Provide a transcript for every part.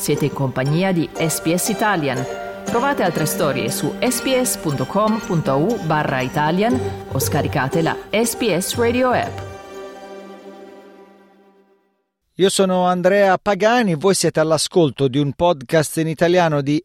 Siete in compagnia di SBS Italian. Trovate altre storie su sbs.com.au/Italian o scaricate la SBS Radio app. Io sono Andrea Pagani, voi siete all'ascolto di un podcast in italiano di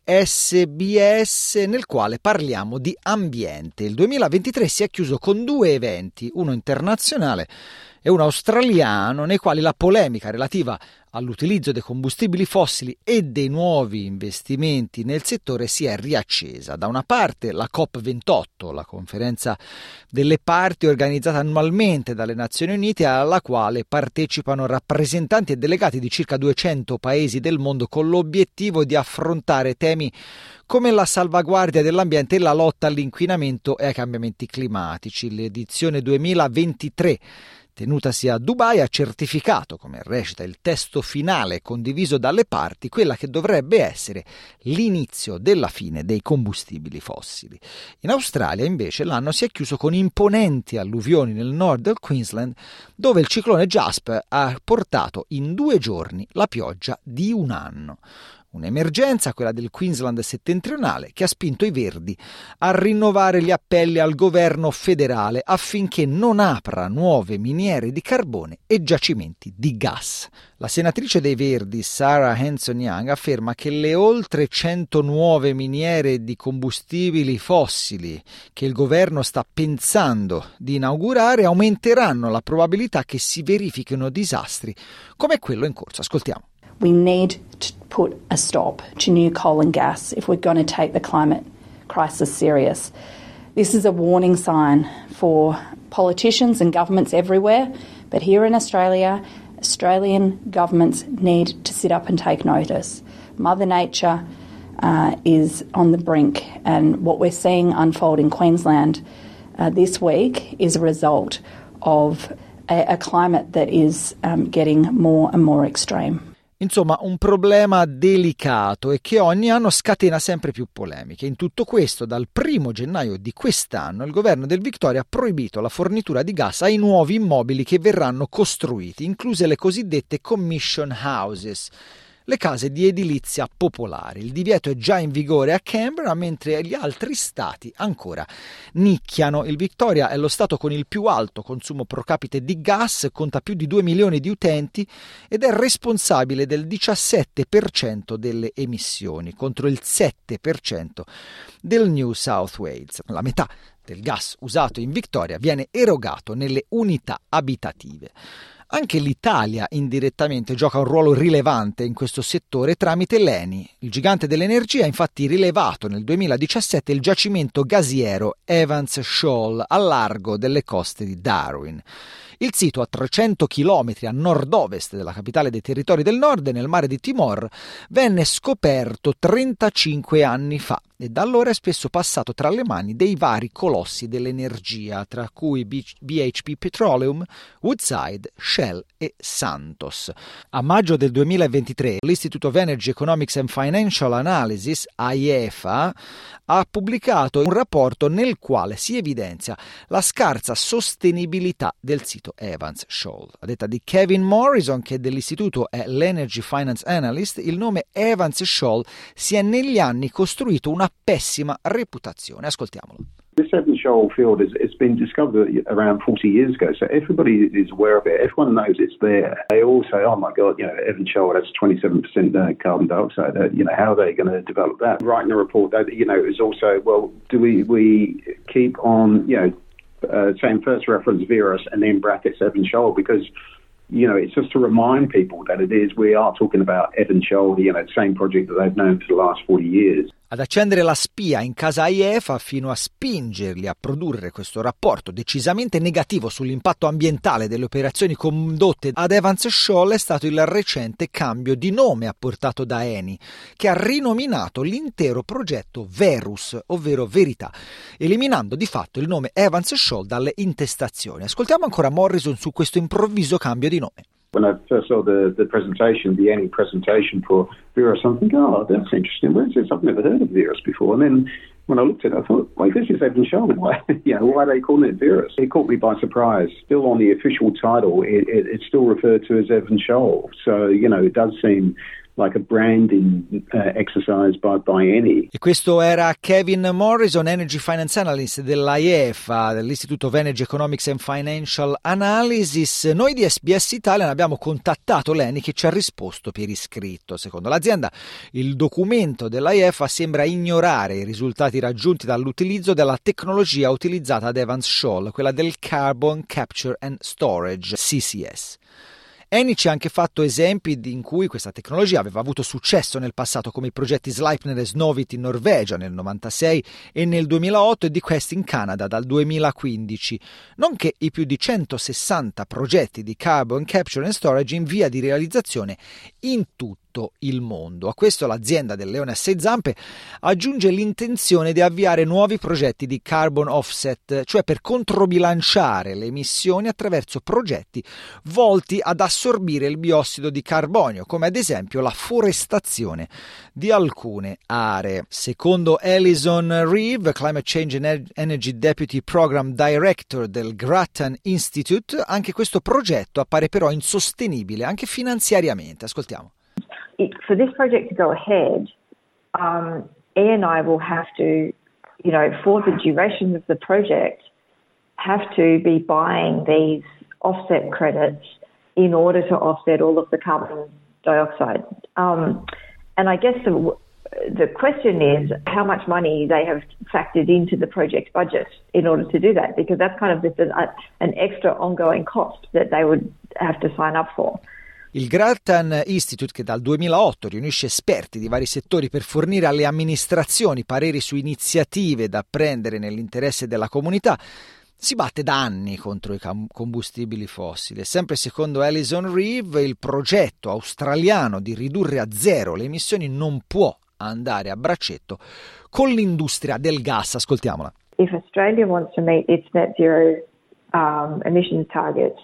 SBS nel quale parliamo di ambiente. Il 2023 si è chiuso con 2 eventi, uno internazionale e uno australiano, nei quali la polemica relativa all'utilizzo dei combustibili fossili e dei nuovi investimenti nel settore si è riaccesa. Da una parte la COP28, la conferenza delle parti organizzata annualmente dalle Nazioni Unite, alla quale partecipano rappresentanti e delegati di circa 200 paesi del mondo con l'obiettivo di affrontare temi come la salvaguardia dell'ambiente e la lotta all'inquinamento e ai cambiamenti climatici. L'edizione 2023 tenutasi a Dubai ha certificato, come recita il testo finale condiviso dalle parti, quella che dovrebbe essere l'inizio della fine dei combustibili fossili. In Australia invece l'anno si è chiuso con imponenti alluvioni nel nord del Queensland, dove il ciclone Jasper ha portato in 2 giorni la pioggia di un anno. Un'emergenza, quella del Queensland settentrionale, che ha spinto i Verdi a rinnovare gli appelli al governo federale affinché non apra nuove miniere di carbone e giacimenti di gas. La senatrice dei Verdi, Sarah Hanson-Young, afferma che le oltre 100 nuove miniere di combustibili fossili che il governo sta pensando di inaugurare aumenteranno la probabilità che si verifichino disastri come quello in corso. Ascoltiamo. We need to put a stop to new coal and gas if we're going to take the climate crisis serious. This is a warning sign for politicians and governments everywhere, but here in Australia, Australian governments need to sit up and take notice. Mother Nature is on the brink, and what we're seeing unfold in Queensland this week is a result of a climate that is getting more and more extreme. Insomma, un problema delicato e che ogni anno scatena sempre più polemiche. In tutto questo, dal 1 gennaio di quest'anno, il governo del Victoria ha proibito la fornitura di gas ai nuovi immobili che verranno costruiti, incluse le cosiddette commission houses, le case di edilizia popolare. Il divieto è già in vigore a Canberra, mentre gli altri stati ancora nicchiano. Il Victoria è lo stato con il più alto consumo pro capite di gas, conta più di 2 milioni di utenti ed è responsabile del 17% delle emissioni, contro il 7% del New South Wales. La metà del gas usato in Victoria viene erogato nelle unità abitative. Anche l'Italia indirettamente gioca un ruolo rilevante in questo settore tramite l'ENI. Il gigante dell'energia ha infatti rilevato nel 2017 il giacimento gasiero Evans Shoal al largo delle coste di Darwin. Il sito, a 300 km a nord-ovest della capitale dei Territori del Nord, nel mare di Timor, venne scoperto 35 anni fa e da allora è spesso passato tra le mani dei vari colossi dell'energia, tra cui BHP Petroleum, Woodside, Shell e Santos. A maggio del 2023 l'Institute of Energy Economics and Financial Analysis, IEFA, ha pubblicato un rapporto nel quale si evidenzia la scarsa sostenibilità del sito Evans Shoal. A detta di Kevin Morrison, che dell'istituto è l'Energy Finance Analyst, il nome Evans Shoal si è negli anni costruito una pessima reputazione. Ascoltiamolo. This Evans Shoal field it's been discovered around 40 years ago, so everybody is aware of it. Everyone knows it's there. They all say, "Oh my God, Evans Shoal has 27% carbon dioxide. How are they going to develop that?" Writing a report that is also, well, do we keep on saying first reference Verus and then brackets Evans Shoal, because it's just to remind people that we are talking about Evans Shoal, the same project that they've known for the last 40 years. Ad accendere la spia in casa IEFA fino a spingerli a produrre questo rapporto decisamente negativo sull'impatto ambientale delle operazioni condotte ad Evans Shoal è stato il recente cambio di nome apportato da Eni, che ha rinominato l'intero progetto Verus, ovvero Verità, eliminando di fatto il nome Evans Shoal dalle intestazioni. Ascoltiamo ancora Morrison su questo improvviso cambio di nome. When I first saw the presentation, the Eni presentation for Verus, I'm thinking, oh, that's interesting. Where's this? I've never heard of Verus before. And then when I looked at it, I thought, wait, this is Evan Shoal. Why are they calling it Verus? It caught me by surprise. Still on the official title, it's still referred to as Evan Shoal. So, it does seem like a branding exercise by Eni. E questo era Kevin Morrison, Energy Finance Analyst dell'AEFA, dell'Institute of Energy Economics and Financial Analysis. Noi di SBS Italian abbiamo contattato l'Eni, che ci ha risposto per iscritto. Secondo l'azienda, il documento dell'AEFA sembra ignorare i risultati raggiunti dall'utilizzo della tecnologia utilizzata ad Evans Shoal, quella del Carbon Capture and Storage, CCS. Eni ci ha anche fatto esempi in cui questa tecnologia aveva avuto successo nel passato, come i progetti Sleipner e Snøhvit in Norvegia nel 1996 e nel 2008 e di Quest in Canada dal 2015, nonché i più di 160 progetti di Carbon Capture and Storage in via di realizzazione in tutto il mondo. A questo l'azienda del leone a sei zampe aggiunge l'intenzione di avviare nuovi progetti di carbon offset, cioè per controbilanciare le emissioni attraverso progetti volti ad assorbire il biossido di carbonio, come ad esempio la forestazione di alcune aree. Secondo Alison Reeve, Climate Change and Energy Deputy Program Director del Grattan Institute, anche questo progetto appare però insostenibile anche finanziariamente. Ascoltiamo. For this project to go ahead, Eni will have to, for the duration of the project, have to be buying these offset credits in order to offset all of the carbon dioxide. And I guess the question is how much money they have factored into the project budget in order to do that, because that's kind of an extra ongoing cost that they would have to sign up for. Il Grattan Institute, che dal 2008 riunisce esperti di vari settori per fornire alle amministrazioni pareri su iniziative da prendere nell'interesse della comunità, si batte da anni contro i combustibili fossili. E sempre secondo Alison Reeve, il progetto australiano di ridurre a zero le emissioni non può andare a braccetto con l'industria del gas. Ascoltiamola. If Australia wants to meet its net zero emissions targets,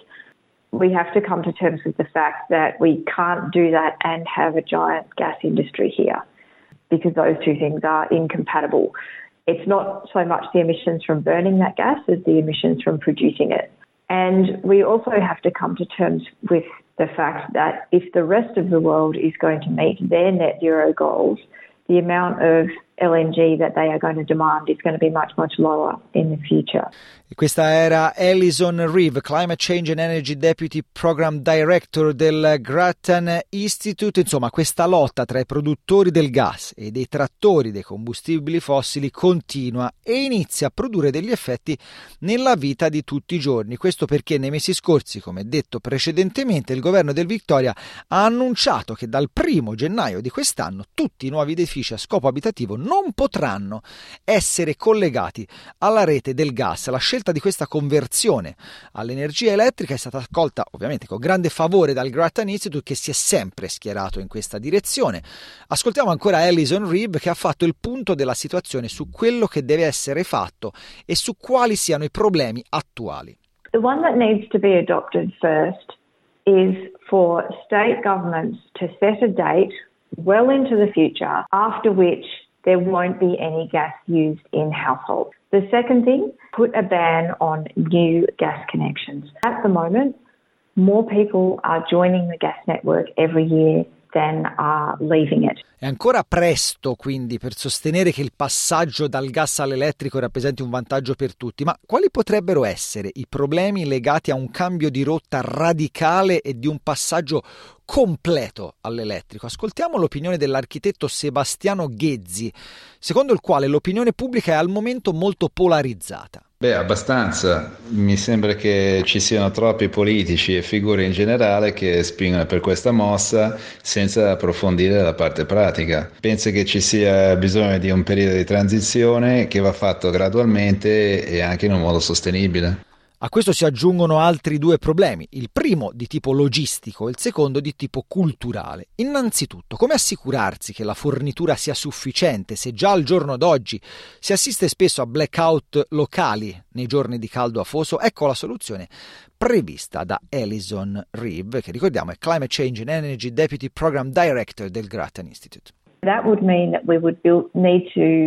we have to come to terms with the fact that we can't do that and have a giant gas industry here, because those two things are incompatible. It's not so much the emissions from burning that gas as the emissions from producing it. And we also have to come to terms with the fact that if the rest of the world is going to meet their net zero goals, the amount of LNG that they are going to demand is going to be much, much lower in the future. E questa era Alison Reeve, Climate Change and Energy Deputy Program Director del Grattan Institute. Insomma, questa lotta tra i produttori del gas e dei trattori dei combustibili fossili continua e inizia a produrre degli effetti nella vita di tutti i giorni. Questo perché nei mesi scorsi, come detto precedentemente, il governo del Victoria ha annunciato che dal 1 gennaio di quest'anno tutti i nuovi edifici a scopo abitativo non potranno essere collegati alla rete del gas. La scelta di questa conversione all'energia elettrica è stata accolta ovviamente con grande favore dal Grattan Institute, che si è sempre schierato in questa direzione. Ascoltiamo ancora Alison Reeve, che ha fatto il punto della situazione su quello che deve essere fatto e su quali siano i problemi attuali. The one that needs to be adopted first is for state governments to set a date well into the future after which there won't be any gas used in households. The second thing, put a ban on new gas connections. At the moment, more people are joining the gas network every year than are leaving it. È ancora presto quindi per sostenere che il passaggio dal gas all'elettrico rappresenti un vantaggio per tutti, ma quali potrebbero essere i problemi legati a un cambio di rotta radicale e di un passaggio completo all'elettrico? Ascoltiamo l'opinione dell'architetto Sebastiano Ghezzi, secondo il quale l'opinione pubblica è al momento molto polarizzata. Abbastanza. Mi sembra che ci siano troppi politici e figure in generale che spingono per questa mossa senza approfondire la parte pratica. Penso che ci sia bisogno di un periodo di transizione che va fatto gradualmente e anche in un modo sostenibile. A questo si aggiungono altri due problemi, il primo di tipo logistico e il secondo di tipo culturale. Innanzitutto, come assicurarsi che la fornitura sia sufficiente se già al giorno d'oggi si assiste spesso a blackout locali nei giorni di caldo afoso? Ecco la soluzione prevista da Alison Reeve, che ricordiamo è Climate Change and Energy Deputy Program Director del Grattan Institute. That would mean that we would need to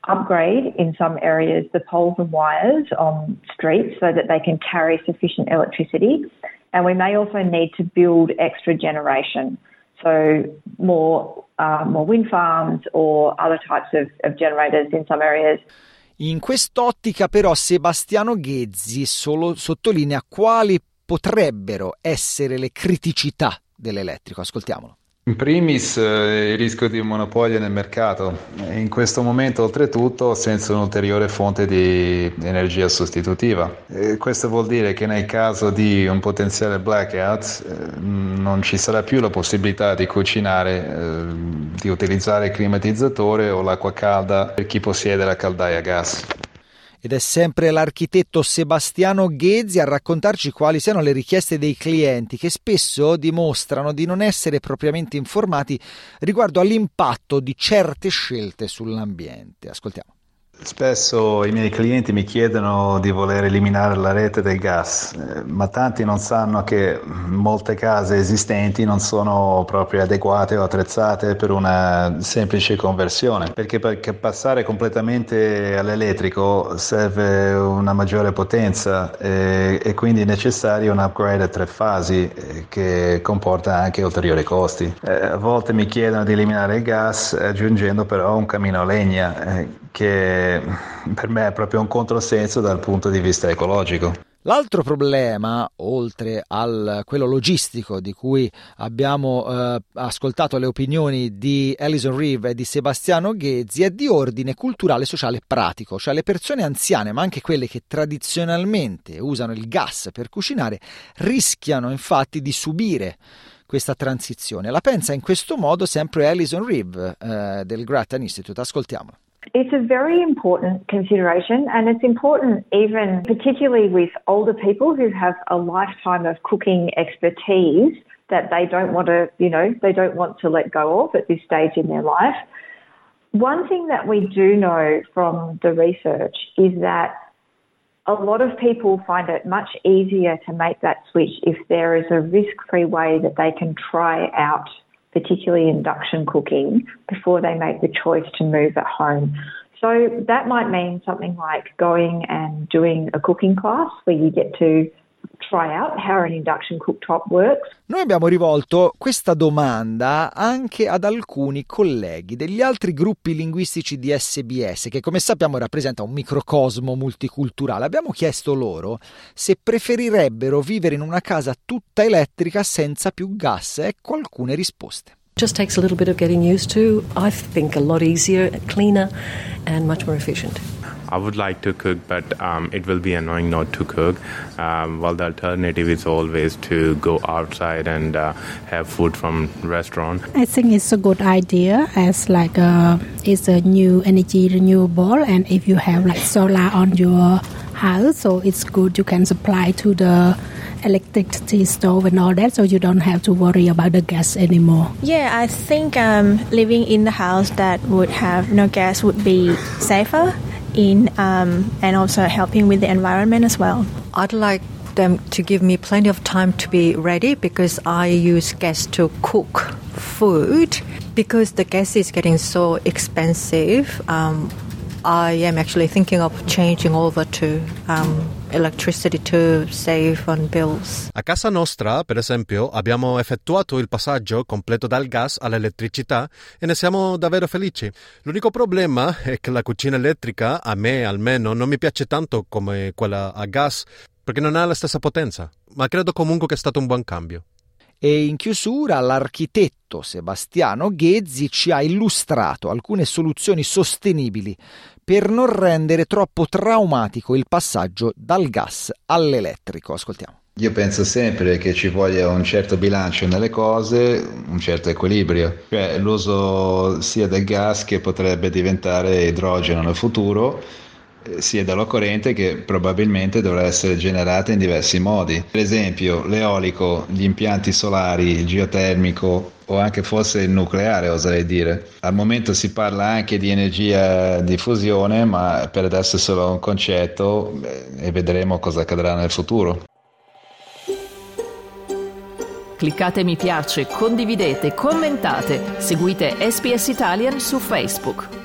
upgrade in some areas the poles and wires on streets so that they can carry sufficient electricity. And we may also need to build extra generation, so more wind farms or other types of generators in some areas. In quest'ottica però Sebastiano Ghezzi sottolinea quali potrebbero essere le criticità dell'elettrico. Ascoltiamolo. In primis il rischio di monopolio nel mercato, in questo momento oltretutto senza un'ulteriore fonte di energia sostitutiva. Questo vuol dire che nel caso di un potenziale blackout non ci sarà più la possibilità di cucinare, di utilizzare il climatizzatore o l'acqua calda per chi possiede la caldaia a gas. Ed è sempre l'architetto Sebastiano Ghezzi a raccontarci quali siano le richieste dei clienti, che spesso dimostrano di non essere propriamente informati riguardo all'impatto di certe scelte sull'ambiente. Ascoltiamo. Spesso i miei clienti mi chiedono di voler eliminare la rete del gas, ma tanti non sanno che molte case esistenti non sono proprio adeguate o attrezzate per una semplice conversione, perché per passare completamente all'elettrico serve una maggiore potenza e quindi è necessario un upgrade a 3 fasi che comporta anche ulteriori costi. A volte mi chiedono di eliminare il gas aggiungendo però un camino a legna che per me è proprio un controsenso dal punto di vista ecologico. L'altro problema, oltre a quello logistico di cui abbiamo ascoltato le opinioni di Alison Reeve e di Sebastiano Ghezzi, è di ordine culturale, sociale e pratico, cioè le persone anziane, ma anche quelle che tradizionalmente usano il gas per cucinare, rischiano infatti di subire questa transizione. La pensa in questo modo sempre Alison Reeve del Grattan Institute. Ascoltiamola. It's a very important consideration, and it's important even particularly with older people who have a lifetime of cooking expertise that they don't want to let go of at this stage in their life. One thing that we do know from the research is that a lot of people find it much easier to make that switch if there is a risk-free way that they can try out, particularly induction cooking, before they make the choice to move at home. So that might mean something like going and doing a cooking class where you get to try out how an induction cooktop works. Noi abbiamo rivolto questa domanda anche ad alcuni colleghi degli altri gruppi linguistici di SBS, che come sappiamo rappresenta un microcosmo multiculturale. Abbiamo chiesto loro se preferirebbero vivere in una casa tutta elettrica senza più gas. Ecco alcune risposte. Just takes a little bit of getting used to. I think a lot easier, cleaner and much more efficient. I would like to cook, but it will be annoying not to cook. Well, the alternative is always to go outside and have food from restaurant. I think it's a good idea as like it's a new energy renewable, and if you have like solar on your house, so it's good you can supply to the electricity stove and all that, so you don't have to worry about the gas anymore. Yeah, I think living in the house that would have no gas would be safer and also helping with the environment as well. I'd like them to give me plenty of time to be ready because I use gas to cook food. Because the gas is getting so expensive, I am actually thinking of changing over to electricity to save on bills. A casa nostra, per esempio, abbiamo effettuato il passaggio completo dal gas all'elettricità e ne siamo davvero felici. L'unico problema è che la cucina elettrica, a me almeno, non mi piace tanto come quella a gas, perché non ha la stessa potenza, ma credo comunque che è stato un buon cambio. E in chiusura l'architetto Sebastiano Ghezzi ci ha illustrato alcune soluzioni sostenibili per non rendere troppo traumatico il passaggio dal gas all'elettrico. Ascoltiamo. Io penso sempre che ci voglia un certo bilancio nelle cose, un certo equilibrio, cioè l'uso sia del gas che potrebbe diventare idrogeno nel futuro, sia dalla corrente che probabilmente dovrà essere generata in diversi modi. Per esempio l'eolico, gli impianti solari, il geotermico o anche forse il nucleare, oserei dire. Al momento si parla anche di energia di fusione, ma per adesso è solo un concetto e vedremo cosa accadrà nel futuro. Cliccate mi piace, condividete, commentate, seguite SBS Italian su Facebook.